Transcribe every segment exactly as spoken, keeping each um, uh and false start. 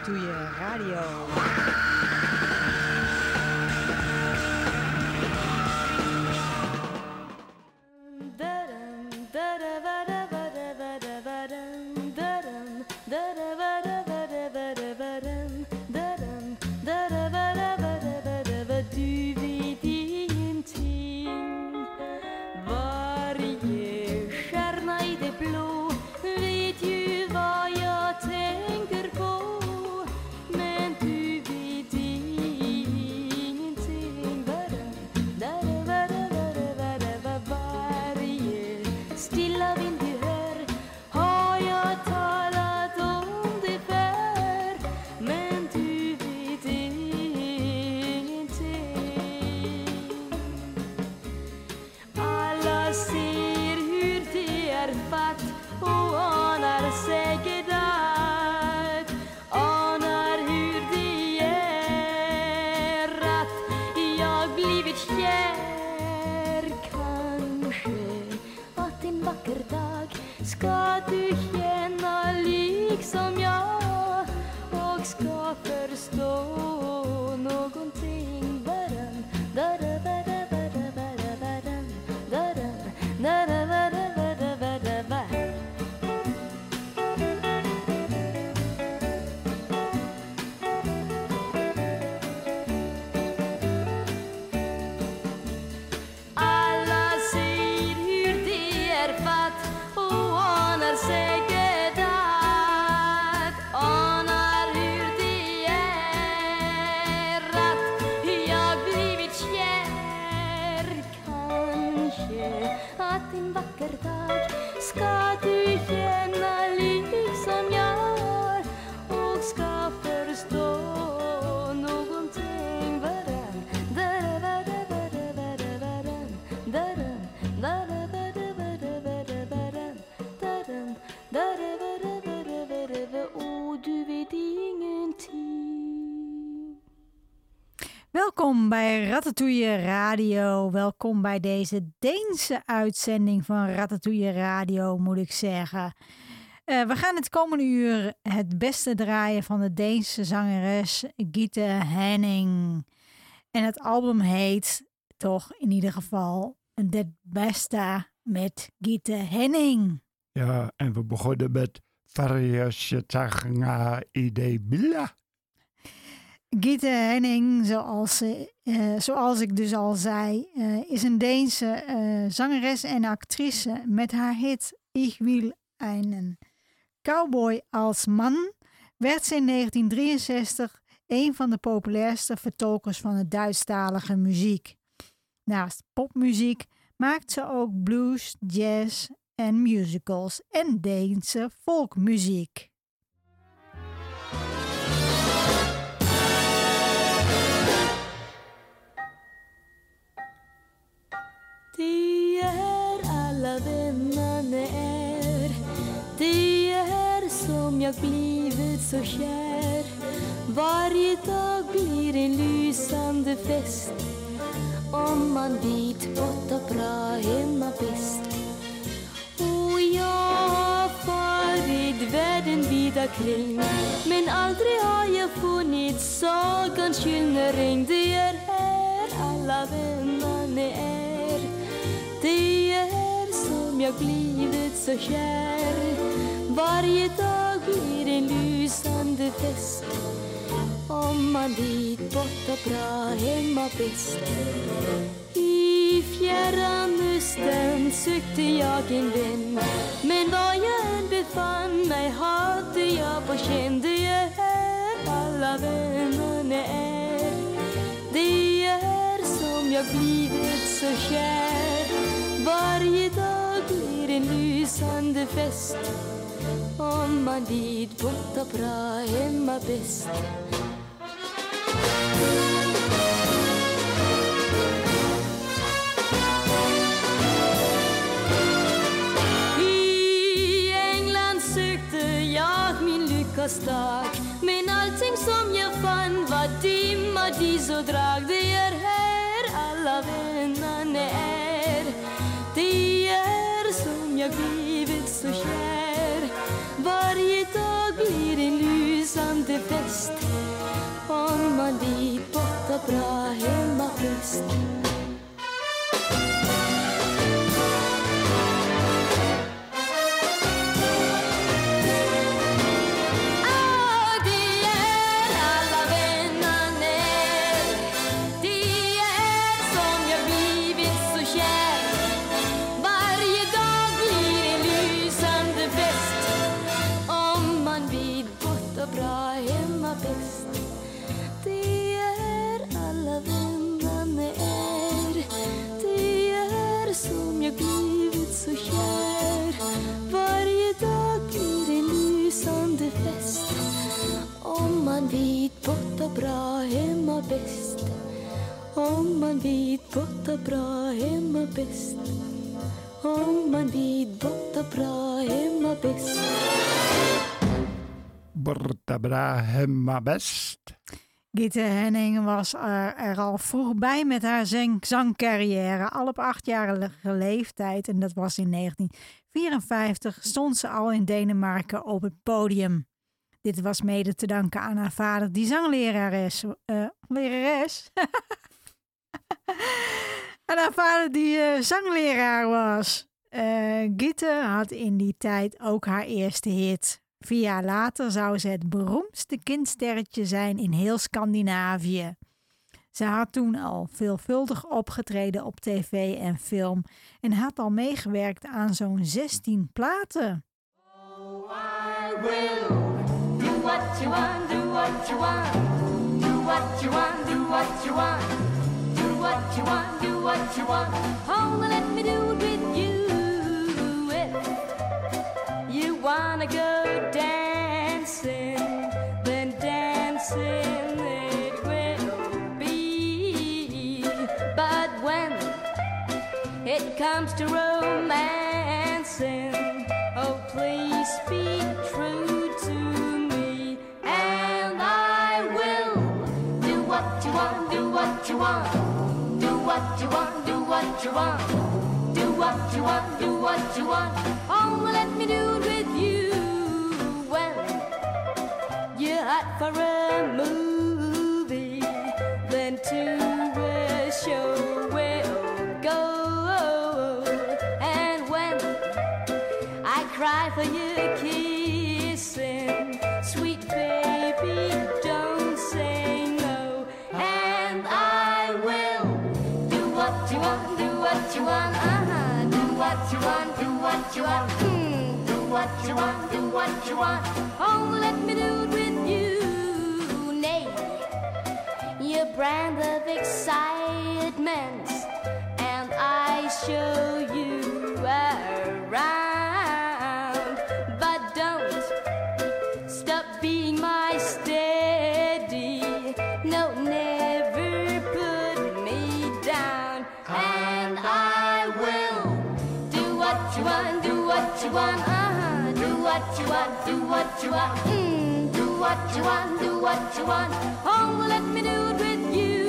Ratatouille Radio. Welkom bij Ratatouille Radio. Welkom bij deze Deense uitzending van Ratatouille Radio, moet ik zeggen. Uh, we gaan het komende uur het beste draaien van de Deense zangeres Gitte Henning. En het album heet toch in ieder geval Het Beste met Gitte Henning. Ja, en we begonnen met Variasjetagna Ide Billa. Gitte Henning, zoals, uh, zoals ik dus al zei, uh, is een Deense uh, zangeres en actrice. Met haar hit Ich will einen Cowboy als man werd ze in negentien drieënzestig een van de populairste vertolkers van de Duitsstalige muziek. Naast popmuziek maakt ze ook blues, jazz en musicals en Deense folkmuziek. De är alla vännerna är, det är som jag blivit så kär. Varje dag blir en lysande fest, om man vet gott och bra hemma bäst. Och jag har farit världen vida kring, men aldrig har jag funnit sagans gyllene ring. Det är här alla vännerna är, det är som jag blivit så kär. Varje dag blir en lysande fest, om man vet bort och bra hemma bäst. I fjärran östern sökte jag en vän, men var jag än befann mig hade jag på känn. Det är här alla vännerna är, det är som jag blivit så kär. Varje dag blir en lysande fest, om man vid bort och bra hemma bäst. I England sökte jag min lyckas dag, men allting som jag fann var dimma, dis och drag. Det är här alla vännerna är, det är som jag blivit så kär. Varje dag blir en lysande lysande fest om man vid borta bra hemmafest. Bra hemma bäst. Om man vid borta bra hemma bäst. Om man vid borta bra hemma bäst. Borta bra hemma best. Gitte Henning was er, er al vroeg bij met haar zang- zangcarrière. Al op achtjarige leeftijd, en dat was in negentien vierenvijftig, stond ze al in Denemarken op het podium. Dit was mede te danken aan haar vader, die zanglerares. Uh, lerares? En haar vader, die uh, zangleraar was. Uh, Gitte had in die tijd ook haar eerste hit. Vier jaar later zou ze het beroemdste kindsterretje zijn in heel Scandinavië. Ze had toen al veelvuldig opgetreden op tv en film en had al meegewerkt aan zo'n zestien platen. Oh, I will. Do what you want, do what you want. Do what you want, do what you want. Do what you want, do what you want. Oh, let me do it with you. If you wanna go dancing, then dancing it will be. But when it comes to romancing, oh, please speak true to me, and I will do what you want, do what you want, do what you want, do what you want, do what you want, do what you want. Oh, let me do it with you. When you're hot for a movie, then to a show we'll go. And when I cry for your kissing, sweet baby, don't say no. And I will do what you want, do what you want, uh-huh. Do what you want, do what you want, mm. Do what you want, do what you want. Oh, let me do it with you. Nay, your brand of excitement, and I show you around. But don't stop being my steady. No, never put me down. And I will do what you want, do what you want, uh-huh. Do what you want, do what you want, mm. Do what you want, do what you want. Oh, let me do it with you.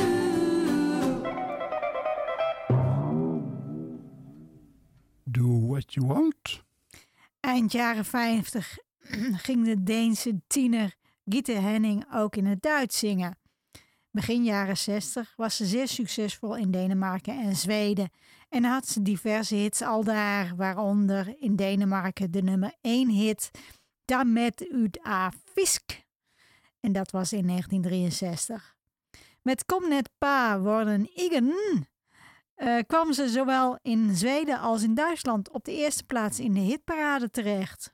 Do what you want. Eind jaren vijftig ging de Deense tiener Gitte Henning ook in het Duits zingen. Begin jaren zestig was ze zeer succesvol in Denemarken en Zweden en had ze diverse hits al daar, waaronder in Denemarken de nummer één hit Damet ut a fisk. En dat was in negentien drieënzestig. Met Kom net pa worden igen uh, kwam ze zowel in Zweden als in Duitsland op de eerste plaats in de hitparade terecht.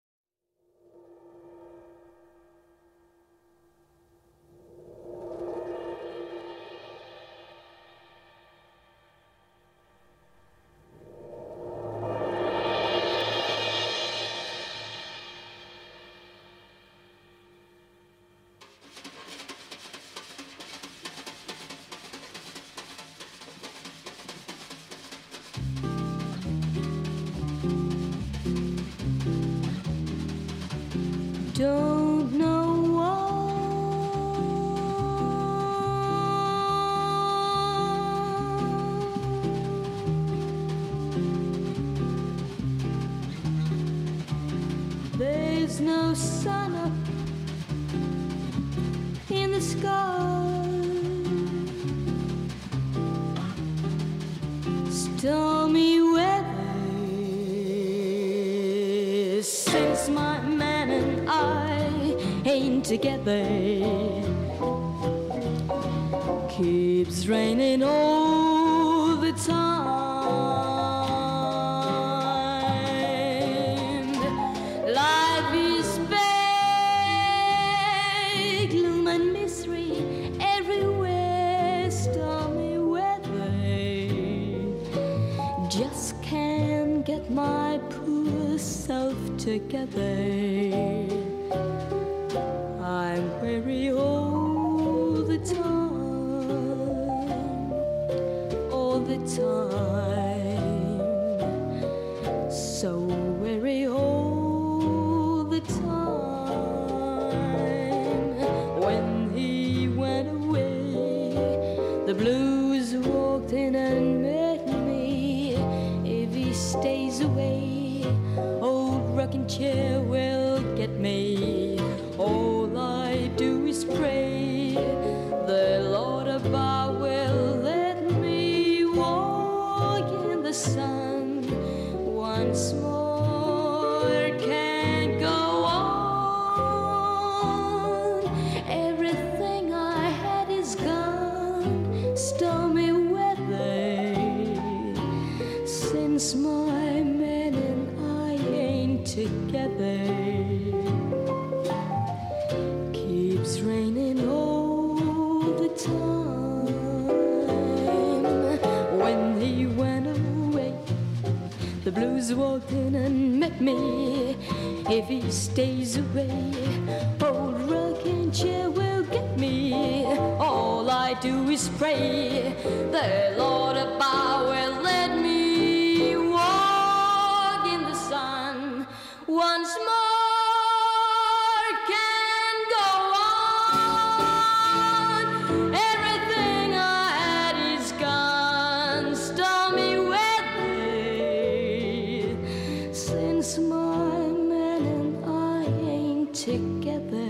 Don't know why there's no sun up the sky. Stormy weather since my man and I ain't together. Keeps raining all the time. Life is bad, gloom and misery everywhere. Stormy weather, just can't get my poor self together. I'm weary all the time. The time, so weary all the time. When he went away, the blues walked in and met me. If he stays away, old rocking chair will get me. All I do is pray the Lord above will let sun once more. Can't go on. Everything I had is gone. Stormy weather since my man and I ain't together. Keeps raining all the time. When he went the blues walked in and met me. If he stays away, old rocking chair will get me. All I do is pray the Lord above will let me walk in the sun once more. Can't go on. Everything I had is gone. Stormy since my man and I ain't together.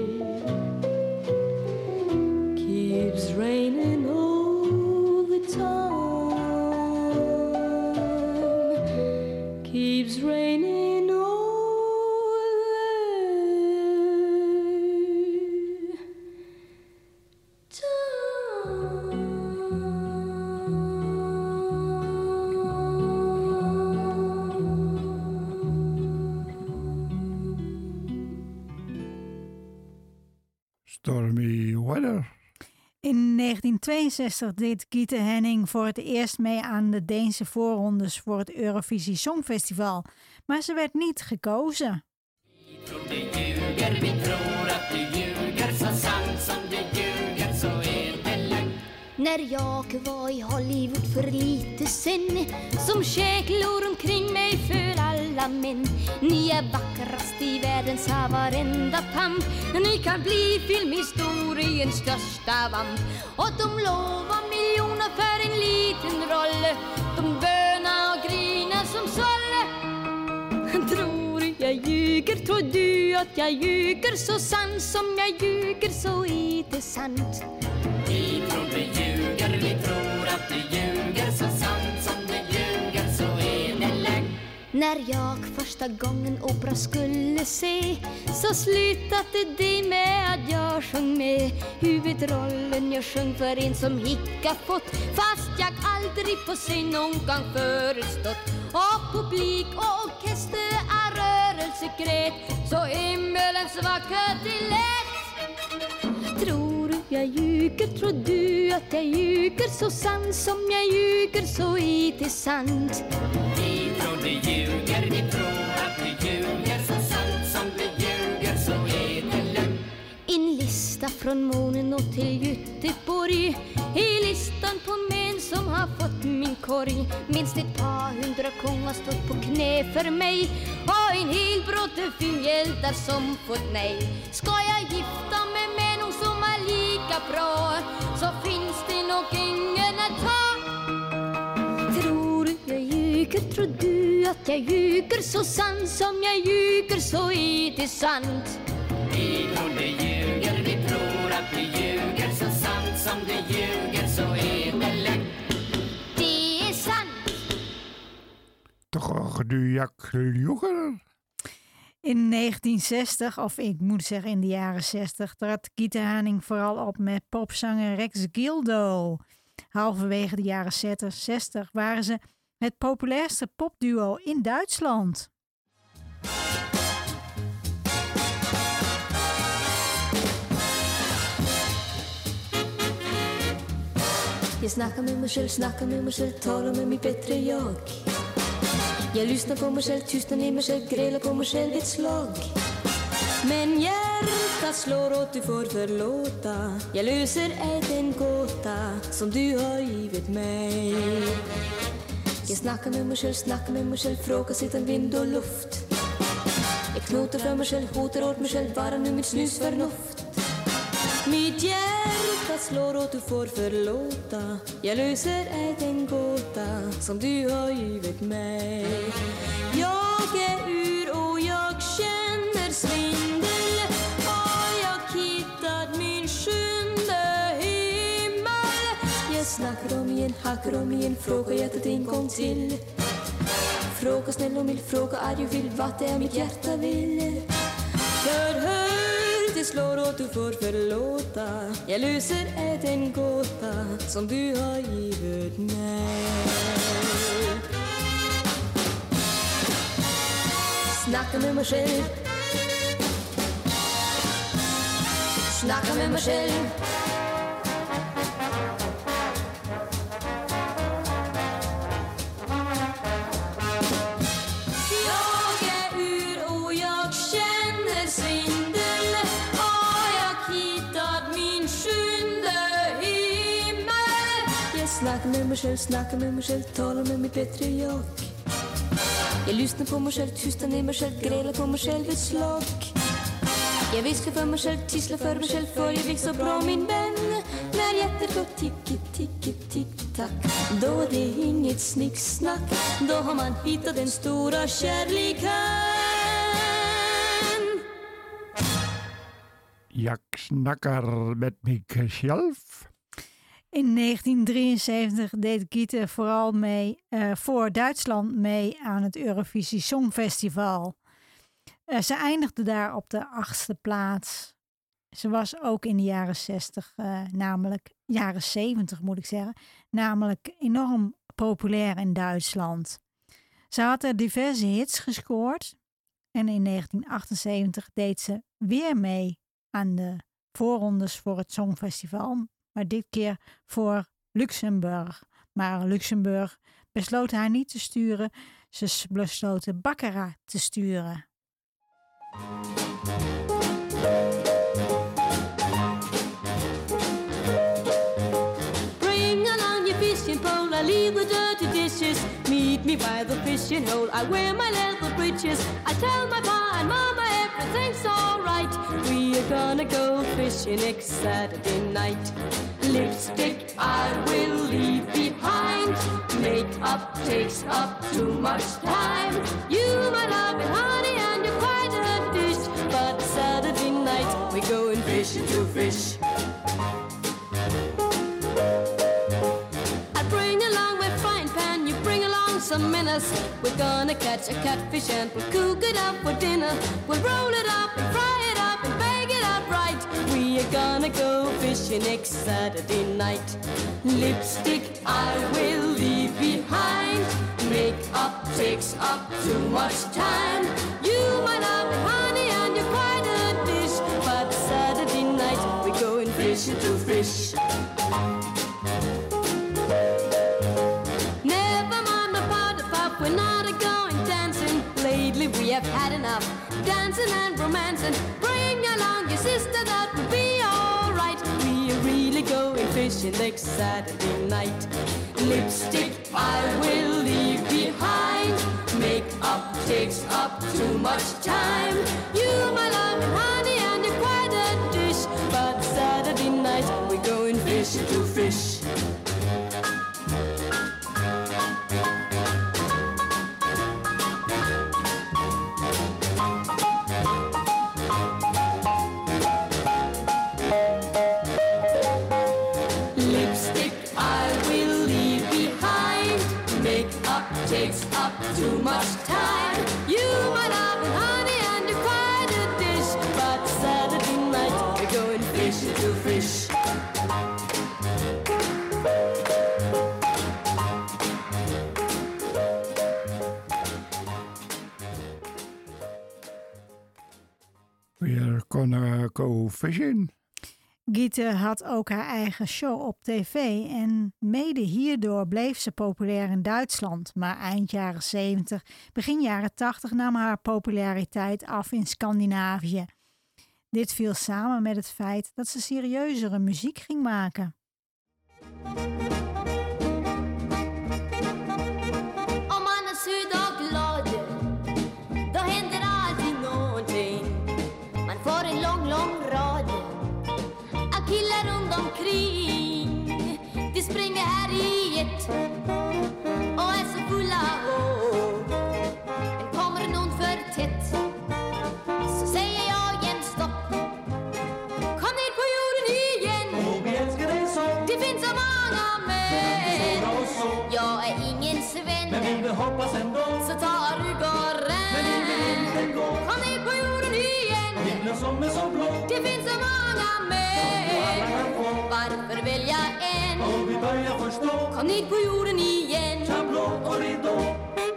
Keeps raining all the time. Keeps raining all the time. Stormy weather. In negentien tweeënzestig deed Gitte Henning voor het eerst mee aan de Deense voorrondes voor het Eurovisie Songfestival, maar ze werd niet gekozen. När jag var i Hollywood för lite sen, som käglor omkring mig för alla män. Ni är vackrast i världen, sa varenda pamp. Ni kan bli filmhistoriens största vamp. Och de lovar miljoner för en liten roll. De bönar och grinar som sålle. Tror jag ljuger, tror du att jag ljuger? Så sant som jag ljuger, så är det sant. Vi tror du ljuger, vi tror att du ljuger. Så sant som du ljuger, så är det lögn. När jag första gången opera skulle se, så slutade det med att jag sjöng med. Huvudrollen jag sjöng för en som hicka fått, fast jag aldrig på scen någon gång förestått. Och publik och orkester är rörelsegrät, så himmelens vackert det lät. Tror jag ljuger, tror du att jag ljuger? Så sant som jag ljuger, så är det sant. Vi tror du ljuger, vi tror att du ljuger. Så sant som du ljuger, så är det lögn. En lista från månen och till Göteborg, i listan på män som har fått min korg. Minst ett par hundra kongar stått på knä för mig, och en hel bråte filmhjältar som fått nej. Ska jag gifta mig med någon som är lika bra, så finns det nog ingen att ta. Tror jag ljuger, tror du att jag ljuger? Så sant som jag ljuger, så är det sant. Vi tror du ljuger, vi tror att du ljuger. Så sant som du ljuger så är det lätt. Det är sant. Toch du jak ljuger? In negentien zestig, of ik moet zeggen in de jaren zestig, trad Gita Haning vooral op met popzanger Rex Gildo. Halverwege de jaren zestig waren ze het populairste popduo in Duitsland. Jag snackar med mig själv, snackar med mig själv, talar med mitt bättre jag. Jag lyssnar på mig själv, tystnar ner mig själv, grälar på mig själv ett slag. Men hjärtat slår åt du får förlåta. Jag löser ej den gåta som du har givit mig. Jag snackar med mig själv, snackar med mig själv, frågar sitter vind och luft. Jag knotar för mig själv, hotar åt mig själv, bara nu mitt snus förnuft. Mitt hjärta slår åt du får förlåta. Jag löser ej den gåta som du har givit mig. Jag är ur och jag känner svindel. Och jag hittat min sjunde himmel. Jag snackar om igen, hackar om igen, frågar hjärtat en gång till. Fråga snäll och mild, fråga arg och vill, vad det är mitt hjärta vill. För hör det slår åt du får förlåta. Jag löser ej den gåta som du har givit mig. Snacka med mig själv. Snacka med mig själv. Snacka med mig själv, snacka med mig själv, talar med mitt bättre jag. Jag lyssnar på mig själv, tystar ner mig själv, grälar på mig själv ett slag. Jag viskar för mig själv, tisslar för mig själv, för jag vill så bra min vän. När hjärtat går ticki, ticki, tick, tack, då det är inget snicksnack. Då har man hittat den stora kärleken. Jak snackar met mezelf. In negentien drieënzeventig deed Gita vooral mee, uh, voor Duitsland mee aan het Eurovisie Songfestival. Uh, ze eindigde daar op de achtste plaats. Ze was ook in de jaren zestig, uh, namelijk jaren zeventig moet ik zeggen, namelijk enorm populair in Duitsland. Ze had er diverse hits gescoord en in negentien achtenzeventig deed ze weer mee aan de voorrondes voor het Songfestival. Maar dit keer voor Luxemburg. Maar Luxemburg besloot haar niet te sturen. Ze besloten Baccarat te sturen. Bring along your fishing pole, I leave the dirty dishes. Meet me by the fishing hole, I wear my leather breeches. I tell my pa and mama everything's alright. We are gonna go fishing next Saturday night. Lipstick I will leave behind. Makeup takes up too much time. You might love it, honey, and you're quite a dish. But Saturday night we're going fishing to fish. I bring along my frying pan, you bring along some minnows. We're gonna catch a catfish and we'll cook it up for dinner. We'll roll it up and fry it up and bake it up right. We are gonna go fishing next Saturday night. Lipstick I will leave behind. Makeup takes up too much time. You might love it, honey, and you're quite a dish. But Saturday night we're going fishing to fish. Never mind the powder puff, we're not a going dancing. Lately we have had enough dancing and romancing. Bring along your sister, that will be alright. We are really going fishing next Saturday night. Lipstick I will leave behind. Makeup takes up too much time. You my love and honey and you're quite a dish. But Saturday night we're going fishing to fish. too much time. You, my love and honey, and you're quite a dish. But Saturday night we're going fish to fish. We're gonna go fishing. Giete had ook haar eigen show op tv en mede hierdoor bleef ze populair in Duitsland. Maar eind jaren zeventig, begin jaren tachtig nam haar populariteit af in Scandinavië. Dit viel samen met het feit dat ze serieuzere muziek ging maken. Om man är söd och glad, då händer alltid någonting. Man får en lång, lång rad av killar runt omkring. De springer här i ett och är så fulla av. Men kommer någon för tätt så säger jag jämt stopp. Kom ner på jorden igen. Och vi älskar dig så. Det finns så många män. Jag är ingen sven, Men vi vill hoppas ändå. så tar du gården. Men vi vill inte gå. Kom ner på jorden igen. Himlen som är så blå. Det finns så många män. Varför välja en? Och vi börjar förstå. Kom ner på jorden igen. Tablå och ridå.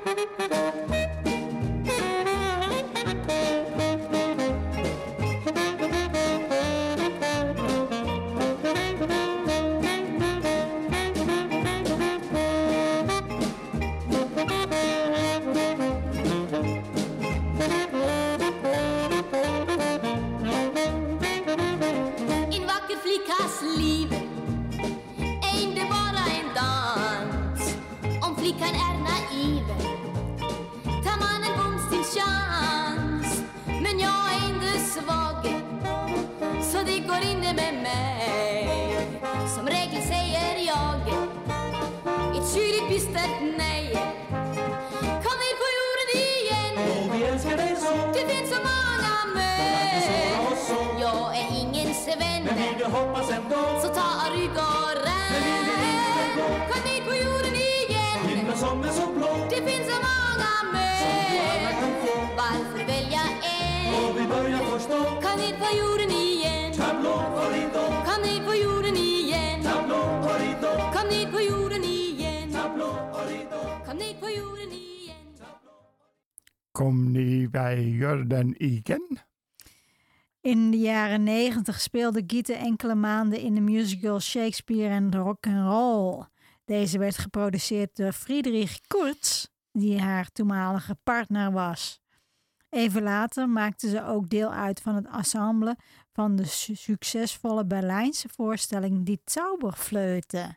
En vacker flickas liv är inte bara en dans. Om flickan är naiv tar man en bums till chans. Men jag är inte svag, så det går inte med mig. Som regel säger jag ett kyligt bistert nej. Kom ner på jorden igen. Och vi älskar dig så. Det finns så många män. Såra oss så. Jag är ingen sven, Men vi vill hoppas ändå. så tar du gården. Men vi vill inte gå. Kom ner på jorden igen. Himlen som är så blå. Det finns så många Alla män. kan få. Varför välja en? Och vi börjar förstå. Kom ner på jorden igen. Tablå och ridå. Kom ner på jorden igen. Tablå och ridå. Kom ner på jorden igen. Tablå och ridå. Kom ner på jorden igen. Kom ni bij Jordan igen? In de jaren negentig speelde Giete enkele maanden in de musical Shakespeare and Rock'n'Roll. Deze werd geproduceerd door Friedrich Kurz, die haar toenmalige partner was. Even later maakte ze ook deel uit van het ensemble van de su- succesvolle Berlijnse voorstelling Die Zauberflöte.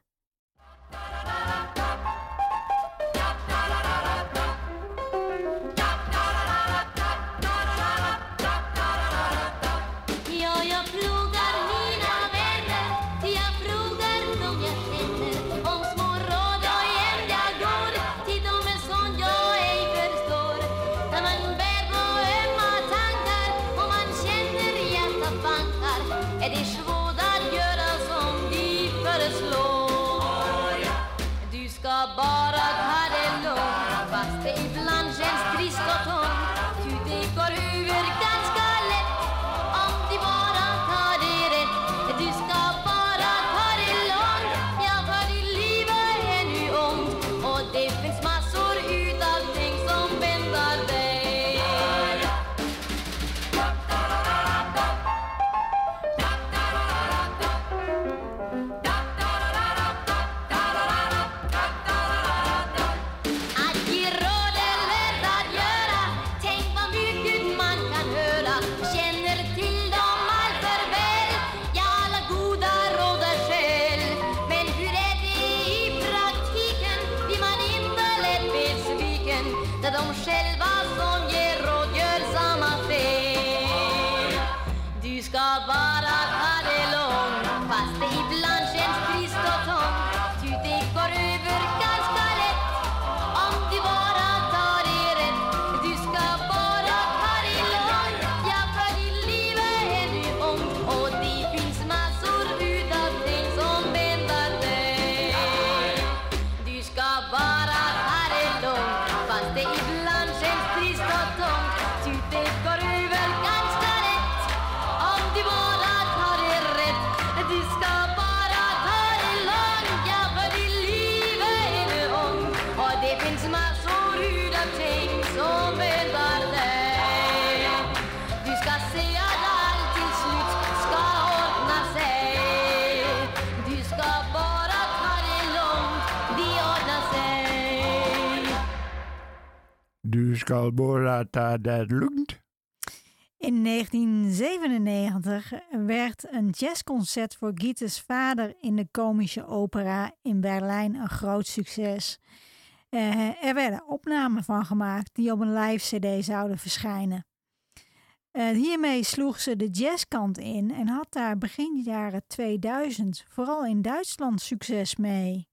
Ja, jag frågar mina vänner, jag frågar dem jag känner om små råd och hem jag går till dem en sån jag ej förstår. När man bär på ömma tankar och man känner hjärtat bankar är det svårt att göra som de föreslår. Du ska skal borata der lugnt. In negentien zevenennegentig werd een jazzconcert voor Gittes vader in de Komische Opera in Berlijn een groot succes. Uh, er werden opnamen van gemaakt die op een live cd zouden verschijnen. Uh, hiermee sloeg ze de jazzkant in en had daar begin jaren tweeduizend vooral in Duitsland succes mee.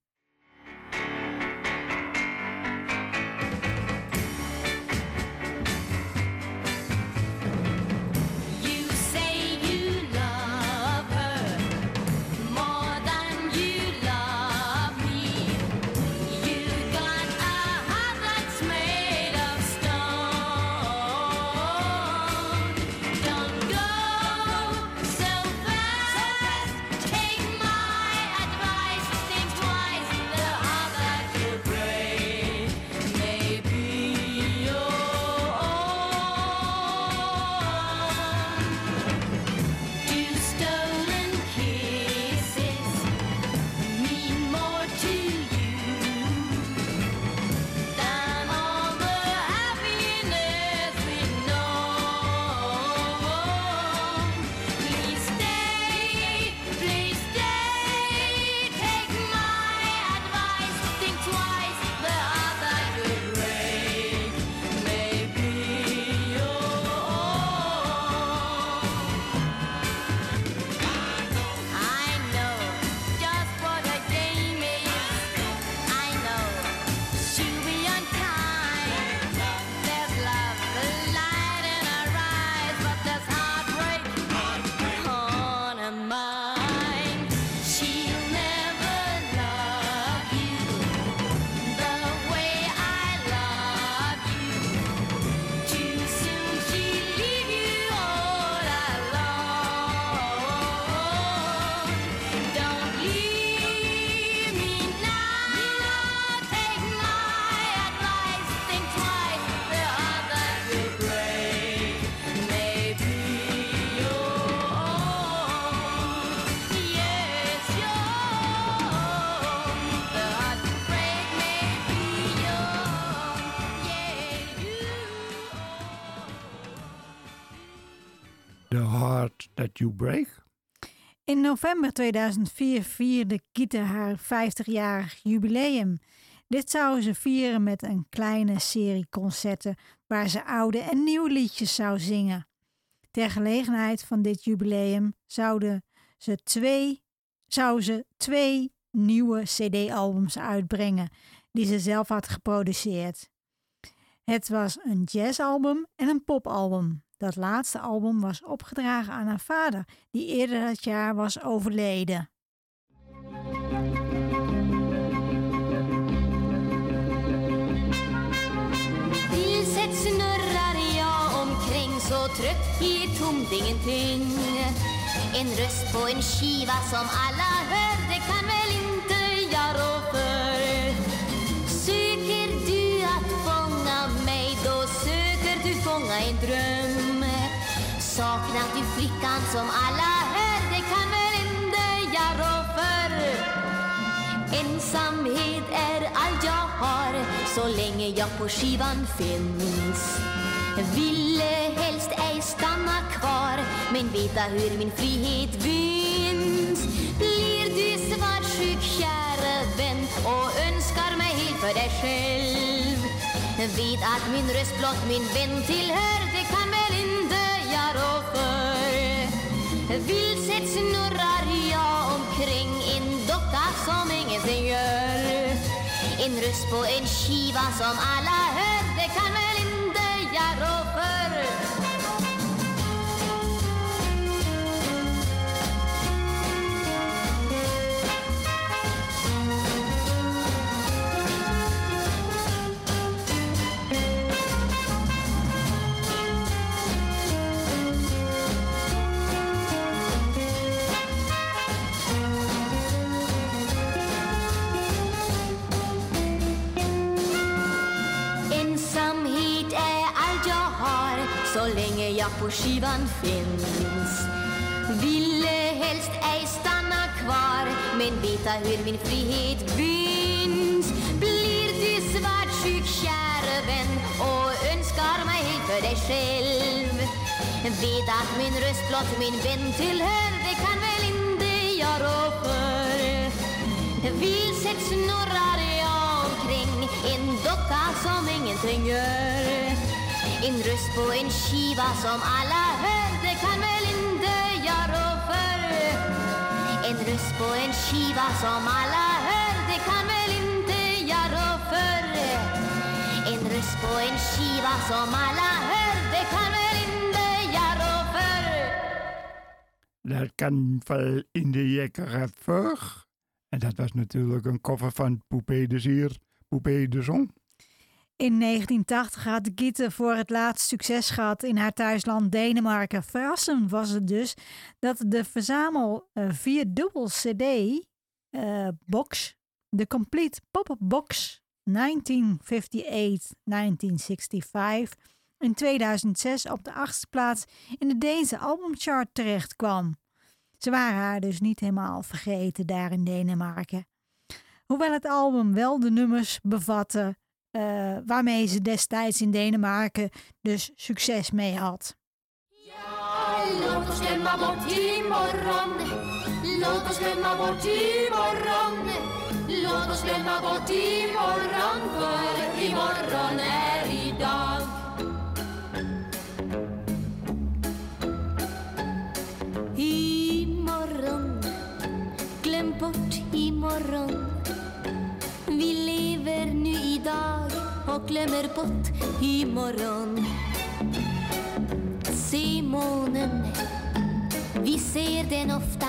The Heart That You Break. In november tweeduizend vier vierde Gitte haar vijftigjarig jubileum. Dit zou ze vieren met een kleine serie concerten waar ze oude en nieuwe liedjes zou zingen. Ter gelegenheid van dit jubileum zouden ze twee, zou ze twee nieuwe cd-albums uitbrengen die ze zelf had geproduceerd. Het was een jazzalbum en een popalbum. Dat laatste album was opgedragen aan haar vader, die eerder dat jaar was overleden. Vilset snurrar jag omkring så trött i ett tomt ingenting. En röst på en skiva som alla hör, det kan väl inte jag rå för. Söker du att fånga mig, då söker du fånga en dröm. Saknar du flickan som alla hör, det kan väl inte jag rå för. Ensamhet är allt jag har, så länge jag på skivan finns. Ville helst ej stanna kvar, men veta hur min frihet vinns. Blir du svartsjuk, kära vän, och önskar mig helt för dig själv. Vet att min röst blott min vän tillhör, det kan väl inte jag rå för. Vilset snurrar jag omkring en docka som ingenting gör. En röst på en skiva som alla hör, det kan väl inte jag rå för. Så länge jag på skivan finns. Ville helst ej stanna kvar, men veta hur min frihet vinns. Blir du svart sjuk kära vän och önskar mig för dig själv. Vet att min röst blott min vän tillhör, det kan väl inte jag rå för. Vilset snurrar jag omkring, en docka som ingenting gör. En röst på en skiva som alla hör, det kan väl inte jag rå för. En röst på en skiva som alla hör, det kan väl inte jag rå för. En röst på en skiva som alla hör, det kan väl inte jag rå för. Dat kan wel in de jekkere voor. En dat was natuurlijk een cover van Poupée de Sier, Poupée de Zon. In negentien tachtig had Gitte voor het laatst succes gehad in haar thuisland Denemarken. Verrassend was het dus dat de verzamel uh, vierdubbel cd uh, box, de Complete Pop-Up Box negentien vijfenvijftig negentien vijfenzestig, in tweeduizend zes op de achtste plaats in de Deense albumchart terecht kwam. Ze waren haar dus niet helemaal vergeten daar in Denemarken. Hoewel het album wel de nummers bevatte uh, waarmee ze destijds in Denemarken dus succes mee had. Ja, låt oss glömma bort imorgon. Låt oss glömma bort imorgon. Låt oss glömma bort imorgon, för imorgon är idag. Imorgon, glöm bort imorgon. Vi lever nu idag och glömmer bort imorgon. Se månen, vi ser den ofta,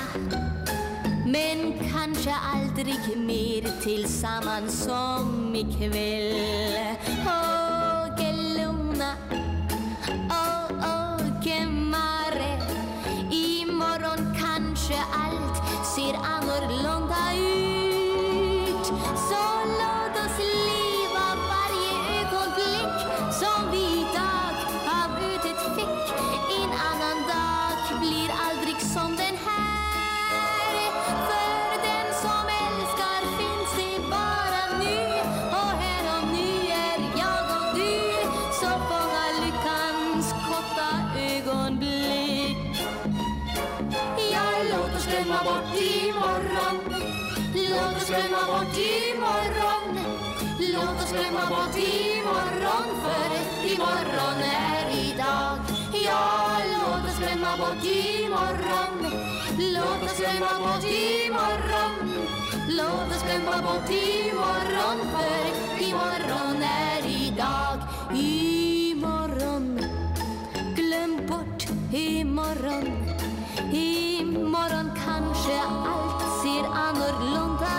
men kanske aldrig mer tillsammans som ikväll. Åh, que luna, åh, åh, que mare. Imorgon kanske allt ser annorlunda ut. Så låt oss leva varje ögonblick som vi idag av ödet fick. En annan dag blir aldrig som den här. För den som älskar finns det bara nu. Och här och nu är jag och du. Så fånga lyckans korta ögonblick. Ja, låt oss glömma bort imorgon. Låt oss glömma bort imorgon. Låt oss glömma bort imorgon, för imorgon är idag. Ja, låt oss glömma bort imorgon. Låt oss glömma bort imorgon. Låt oss glömma bort imorgon, för imorgon är idag. Imorgon, glöm bort imorgon. Imorgon kanske allt ser annorlunda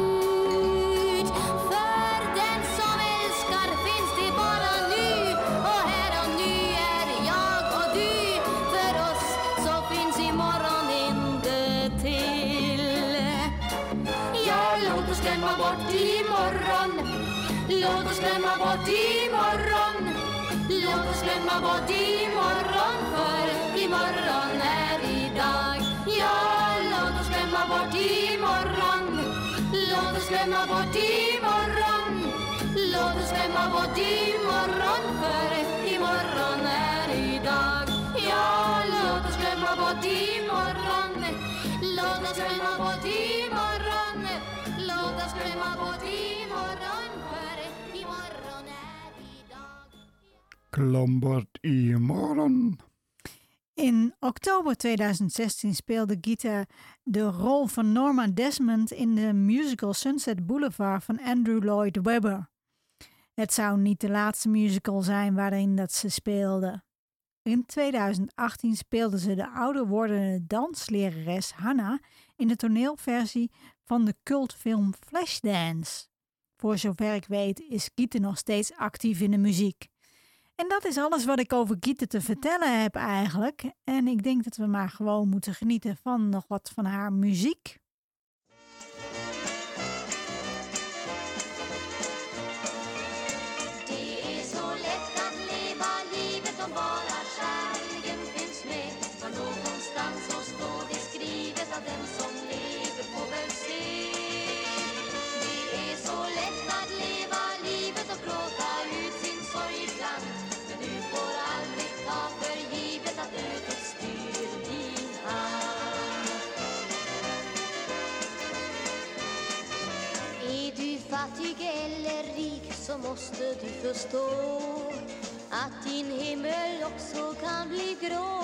ut. För den som älskar finns det bara nu. Och här och nu är jag och du. För oss så finns imorgon inte till. Ja, låt oss glömma bort imorgon. Låt oss glömma bort imorgon. Låt oss glömma bort imorgon, för imorgon är idag. Ja, låt oss glömma bort imorgon. Låt oss glömma bort imorgon. Låt oss glömma bort imorgon, för imorgon är idag. Ja, låt oss glömma bort imorgon. Låt oss glömma bort imorgon. Låt oss glömma bort imorgon, för imorgon är idag. Glöm bort imorgon. In oktober tweeduizend zestien speelde Gitte de rol van Norma Desmond in de musical Sunset Boulevard van Andrew Lloyd Webber. Het zou niet de laatste musical zijn waarin dat ze speelde. In tweeduizend achttien speelde ze de ouder wordende danslerares Hannah in de toneelversie van de cultfilm Flashdance. Voor zover ik weet is Gitte nog steeds actief in de muziek. En dat is alles wat ik over Gitte te vertellen heb eigenlijk. En ik denk dat we maar gewoon moeten genieten van nog wat van haar muziek. Det är så lätt att leva livet om bara kärleken finns med. För någonstans så står det skrivet att den som lever får väl se. Det är så lätt att leva livet och gråta. så måste du förstå att din himmel också kan bli grå.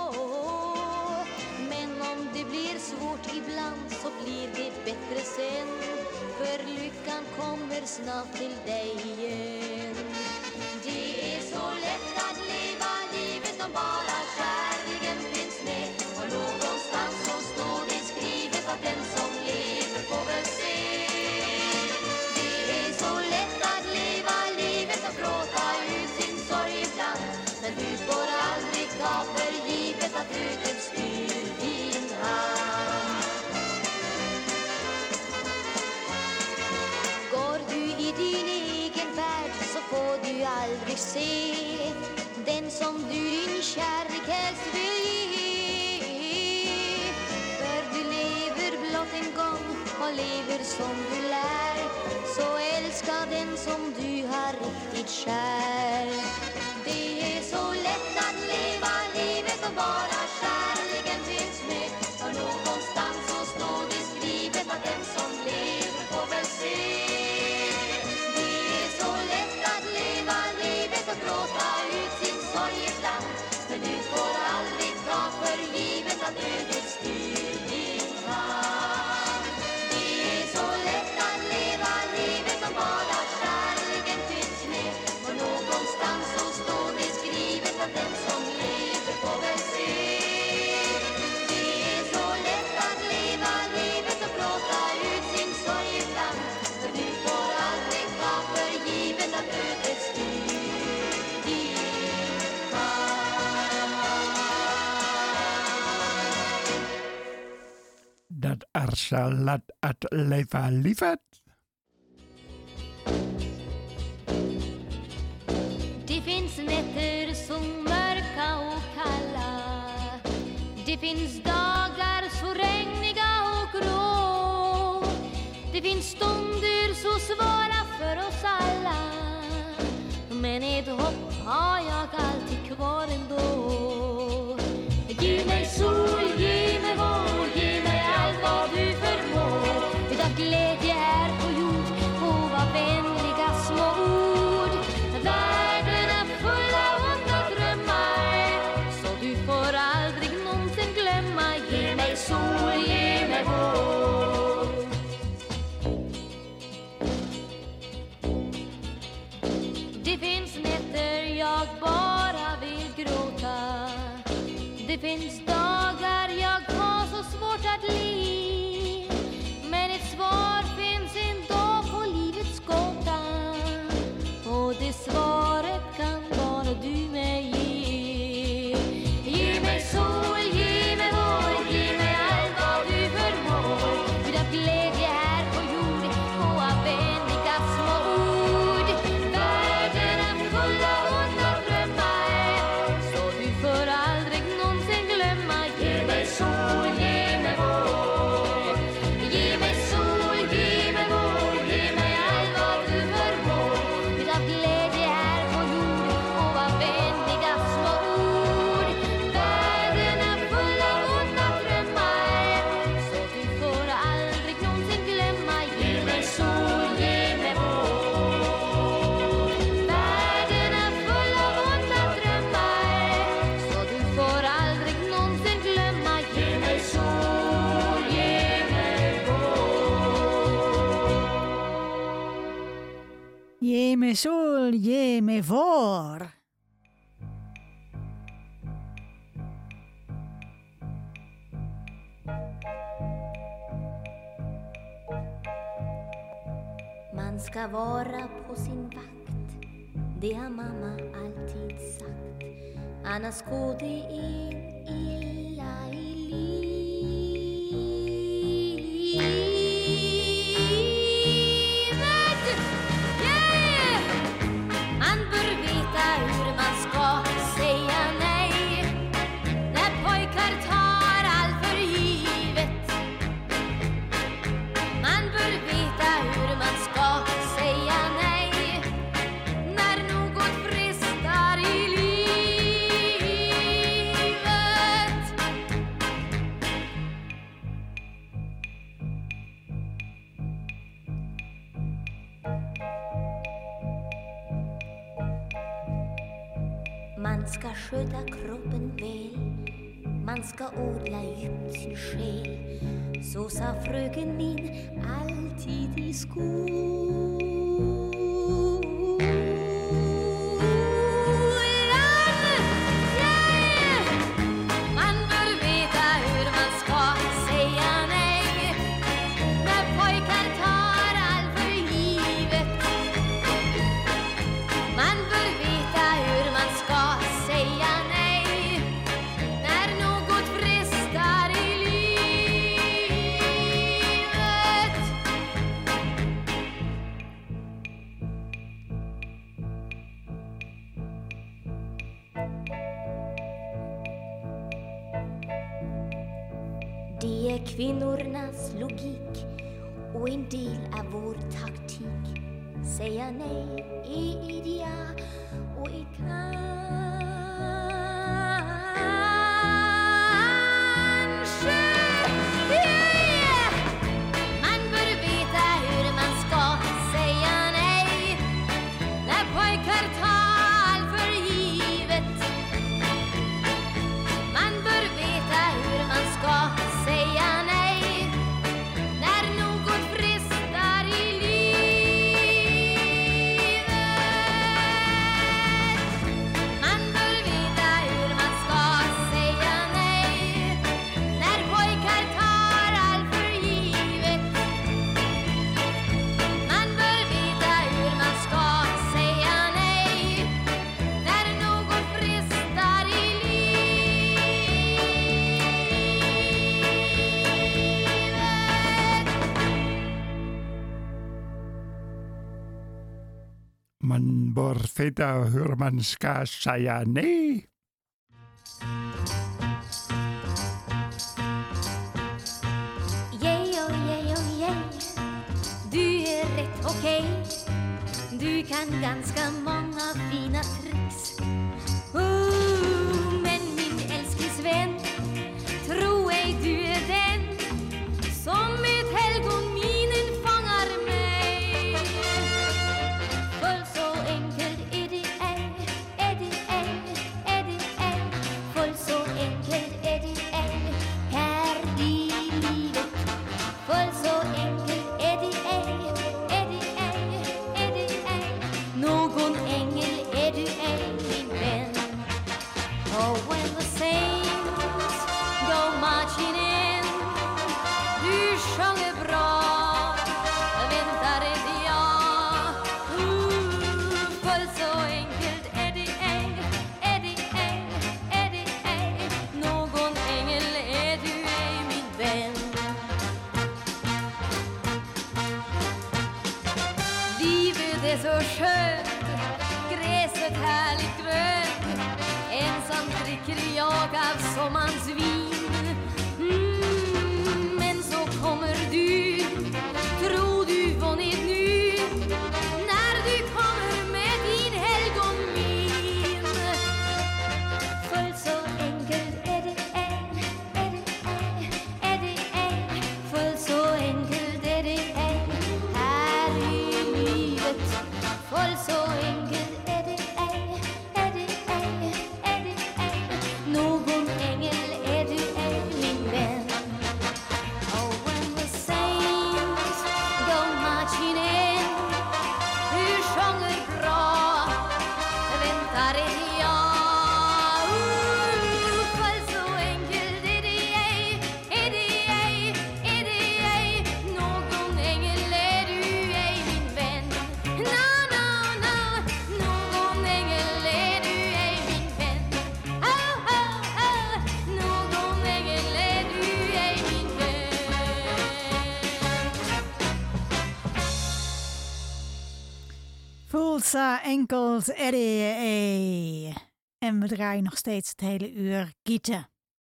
Men om det blir svårt ibland så blir det bättre sen, för lyckan kommer snart till dig igen. Det är så lätt att leva livet om bara kärleken finns med. Och någonstans så står det skrivet att den som lever får väl se. Det är så lätt att leva livet och gråta ut sin sorg ibland. Men du får aldrig ta för givet att ödet styr din hand. Går du i din egen värld så får du aldrig se den som du din kärlek helst vill ge. För du lever blott en gång och lever som du lär, så älska den som du har riktigt kär. Det är så lätt att leva livet och bara kärleken finns med. Och någonstans så står det skrivet att den som lever får väl se. Det är så lätt att leva livet och gråta ut sin sorg ibland. Men du får aldrig ta för givet att ödet styr din hand. Det är så lätt att leva livet och bara kärleken finns med. Och någonstans så står det skrivet att den som lever får väl se. Det är så lätt att leva livet och gråta ut sin sorg ibland. Men du får aldrig ta för givet att ödet styr din hand. Dat er så lätt att leva livet. Det finns nätter så mörka och kalla. Det finns dagar så regniga och grå. Det finns stunder så svåra för oss alla. Men ett hopp har jag alltid kvar ändå. Ge mig sol, ge mig vår, ge mig allt vad du förmår. Utav glädje här på jord och vad vänliga små ord. Världen är full av onda drömmar, så du får aldrig någonsin glömma. Ge mig sol, ge mig vår. Det finns nätter jag bara vill gråta. Det finns dagar jag har så svårt att le. Men ett svar finns ändå på livets gåta. Och det svaret kan bara du mig ge. Ge mig sol, ge mig vår, ge mig allt vad du förmår. Utav glädje här på jord och av vänliga små ord. Världen är full av onda drömmar, så du får aldrig någonsin glömma. Ge mig sol, ge mig vår. Ge mig sol, ge mig vår, ge mig allt vad du förmår. Utav glädje här på jord och av vänliga små ord. Världen är full av onda drömmar, så du får aldrig någonsin glömma. Ge mig sol, ge mig vår. Världen är full av onda drömmar, så du får aldrig någonsin glömma. Ge mig sol, ge mig vår. Ge mig sol, ge mig vår. Man ska vara på sin vakt, det har mamma alltid sagt. Annars går det en illa i livet. Yeah! Man bör veta hur man ska säga nej när pojkar tar allt för givet. Man bör veta hur man ska säga nej när något frestar i livet. Man ska sköta kroppen väl, man ska odla djupt sin själ. Så sa fröken min alltid i skolan. Man bör veta hur man ska säga nej när pojkar tar allt för givet. Man bör veta hur man ska säga nej när något frestar i livet. Det är kvinnornas logik och en del av vår taktik. Säga nej är idea och är kanske yeah. Man bör veta hur man ska säga nej när pojkar tar allt för givet. Man bör veta hur man ska säga nej när något frestar i livet. Man bör veta hur man ska säga nej när pojkar tar allt för givet. Man bör veta hur man ska säga nej när något frestar i Man bör veta hur man ska säga nej. Yeah, oh, yeah, oh, yeah. Du är rätt okej. Du kan ganska många fina tricks. Oh, men min älsklingsvän, tro ej du är den som med helgonminen fångar mig. För så enkelt är det ej, är det ej, är det ej. För så enkelt är det ej här i livet. För så enkelt är det ej, är det ej, är det ej. Någon ängel är du ej, min vän. Oh, when the saints go marching in, du sjunger bra, väntar ett ja. Uh, för så enkelt är det ej, är det ej, är det ej. Någon ängel är du ej, min vän. Livet är så skönt, gräset härligt grönt. Ensam dricker jag av sommarens vin. Mm, men så kommer du, tror du vunnit nu, när du kommer med din helgonmin. För så enkelt är det ej, är det ej, är det ej. För så enkelt är det ej här i livet. För så enkelt är det ej, är det ej, är det ej. Någon ängel är du ej, min vän. Oh, when the saints go marching in, du sjunger bra, väntar ett ja. Uh, för så enkelt är det ej, är det ej, är det ej. Någon ängel är du ej, min vän. No, no, no. Någon ängel är du ej, min vän. Oh, oh, oh. Någon ängel är du ej, min vän. Voelt zo enkel er det ej. En we draaien nog steeds het hele uur Gieten.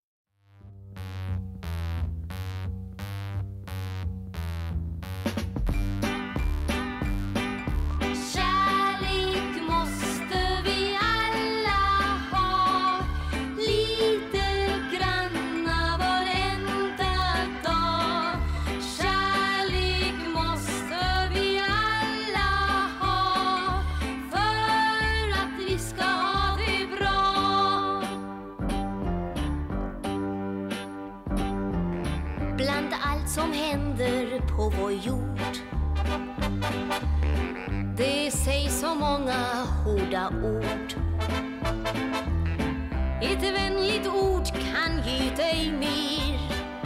Kärlek måste vi alla ha, lite grann av varenda dag. Kärlek måste vi alla ha, för att vi ska ha det bra. med allt som händer på vår jord. Det sägs så många hårda ord. Ett vänligt ord kan ge dig mer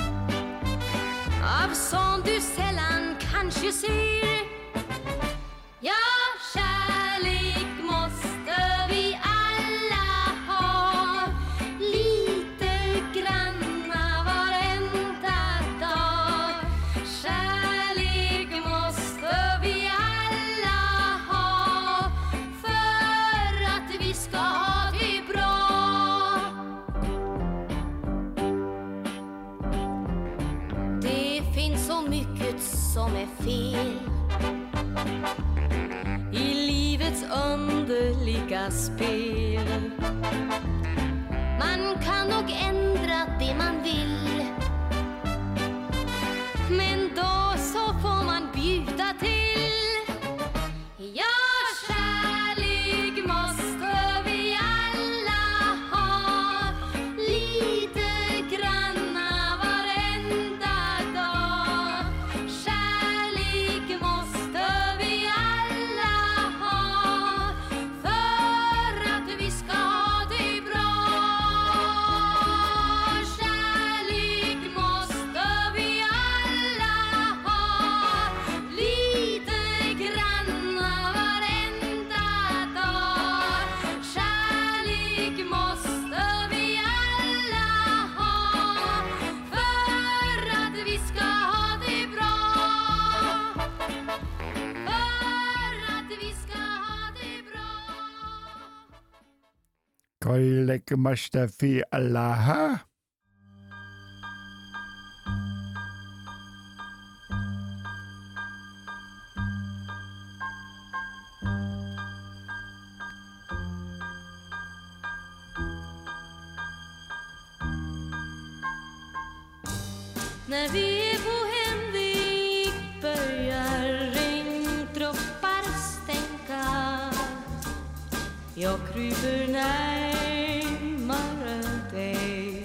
av sånt du sällan kanske ser. Ja, kärlek måste vi alla ha, lite granna varenda dag. Kärlek måste vi alla ha för att vi ska ha det bra. Det finns så mycket som är fel i livets underliga spel. Man kan nog ändra det man vill, men då så får man bjuda till. Ja, kärlek måste vi alla ha, lite granna varenda dag. Kärlek måste vi alla ha för att vi ska ha det bra. Kärlek måste vi alla ha, lite granna varenda dag. Kärlek måste vi alla ha för att vi ska ha det bra. För att vi ska ha det bra. Koilek Mustafi Allah. När vi är på Hemvik börjar regndroppar stänka. Jag kryper närmare dig.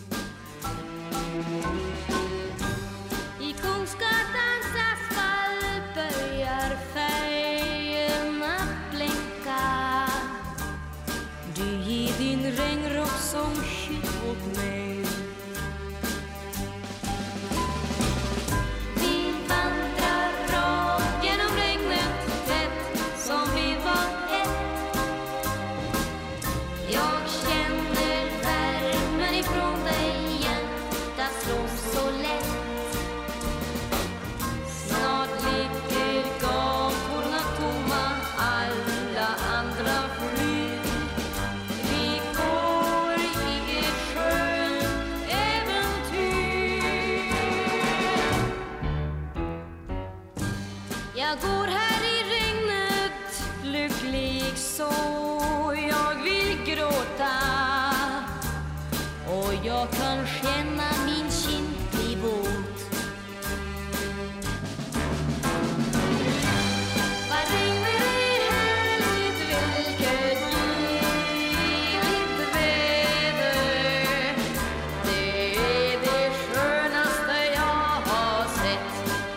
I Kungsgatans asfalt börjar färgerna blänka. Du ger din regnrock som skydd åt mig. Vi vandrar rakt genom regnet tätt som vi var ett. Jag känner värmen ifrån dig, hjärtat slår så lätt. Snart ligger gatorna tomma, alla andra flyr. Vi går i ett skönt äventyr. Jag går här i regnet, lycklig så jag vill gråta. Och jag kan känna min kind bli våt. Vad regnar är härligt, vilket ljuvligt väder. Det är det skönaste jag har sett.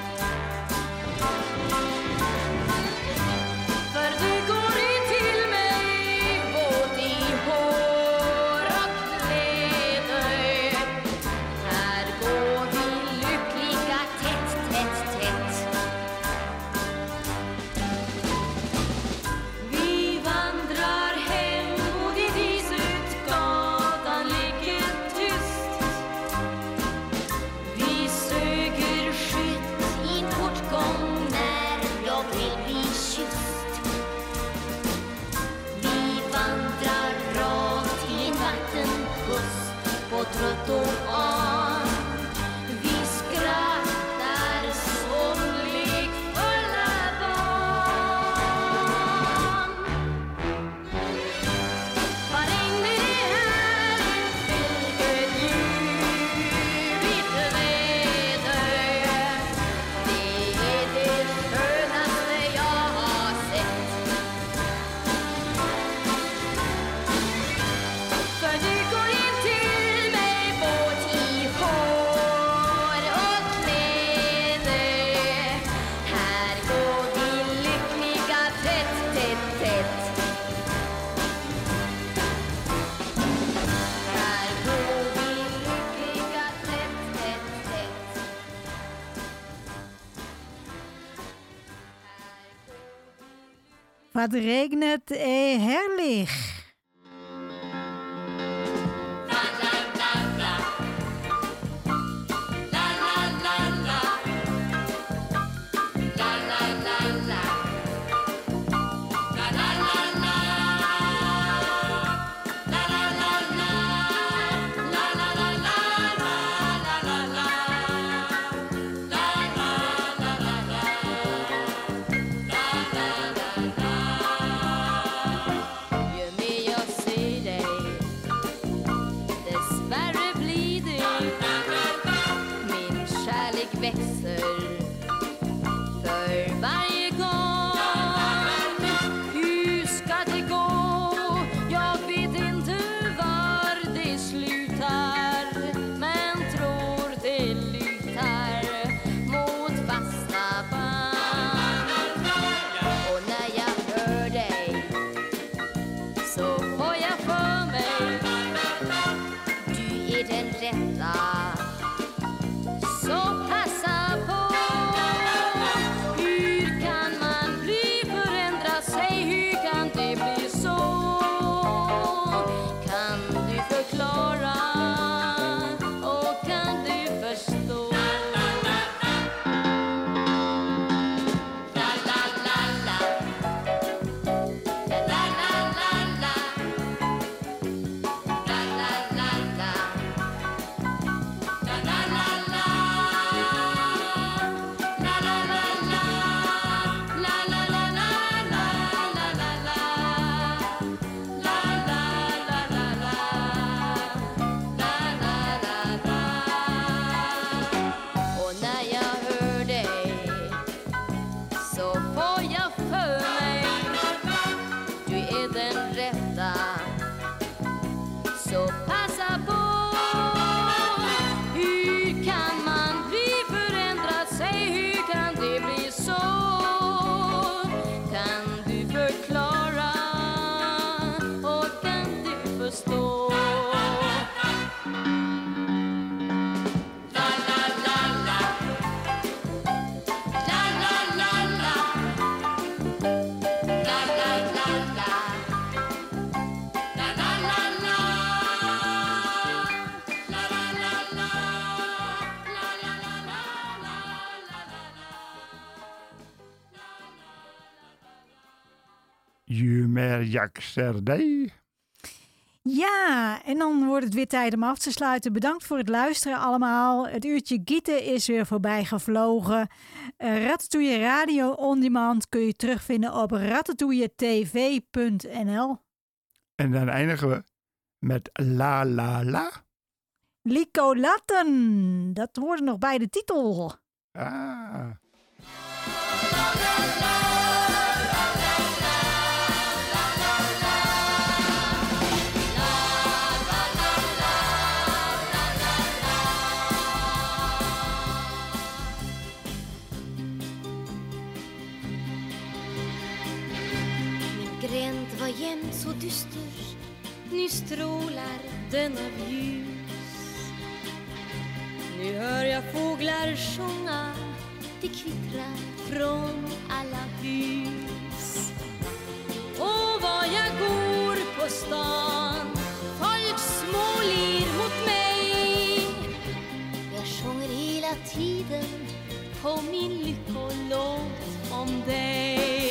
För du går in till mig, våt i hår och kläder. Wat regnet är härlig. Ju mer jag ser dig. Ja, en dan wordt het weer tijd om af te sluiten. Bedankt voor het luisteren allemaal. Het uurtje gieten is weer voorbij gevlogen. Uh, Ratatouille Radio On Demand kun je terugvinden op ratatouille t v punt n l. En dan eindigen we met La La La. Lico Latten, dat hoort nog bij de titel. Ah. Gränd var jämt så dyster. Nu strålar den av ljus. Nu hör jag fåglar sjunga. Det kvittrar från alla hus. Och var jag går på stan, folk småler mot mig. Jag sjunger hela tiden på min lyckolåt om dig.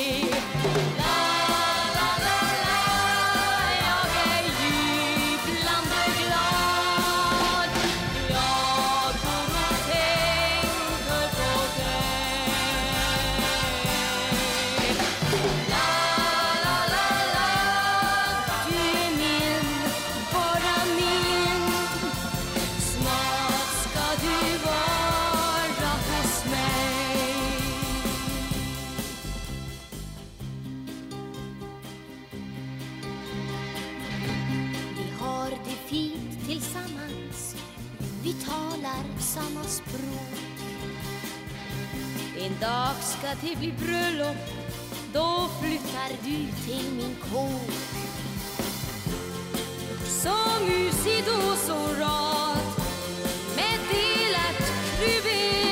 Samma språk. En dag ska det bli bröllop. Då flyttar du till min kåk. Så mysigt och så rart med delat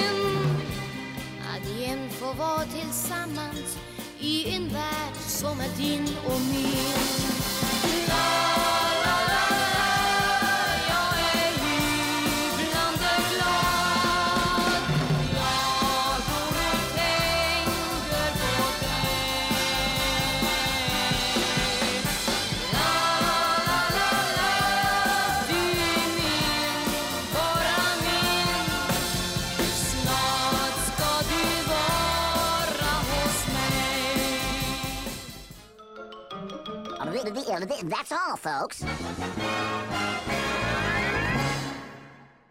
kruvin. Att igen få vara tillsammans i en värld som är din och min. La, la, la, la, jag är jublande glad. Jag går och tänker på dig. La, la, la, la, du är min, bara min. Snart ska du vara hos mig. That's all, folks.